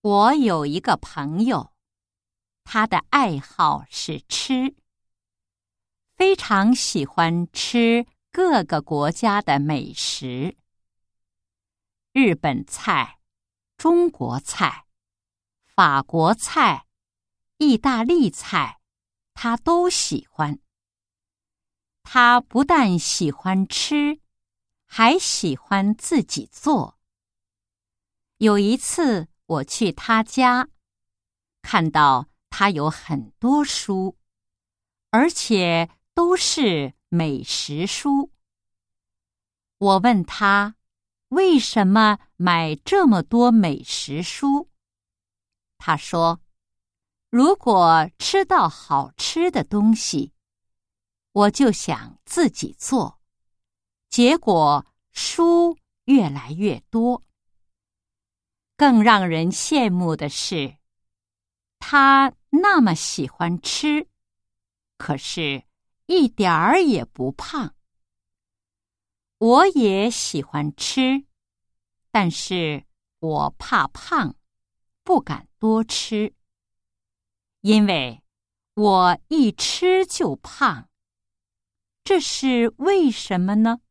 我有一个朋友，他的爱好是吃，非常喜欢吃各个国家的美食。日本菜、中国菜、法国菜、意大利菜，他都喜欢。他不但喜欢吃，还喜欢自己做。有一次我去他家，看到他有很多书，而且都是美食书。我问他为什么买这么多美食书？他说，如果吃到好吃的东西，我就想自己做，结果书越来越多。更让人羡慕的是，他那么喜欢吃，可是一点儿也不胖。我也喜欢吃，但是我怕胖，不敢多吃，因为我一吃就胖。这是为什么呢？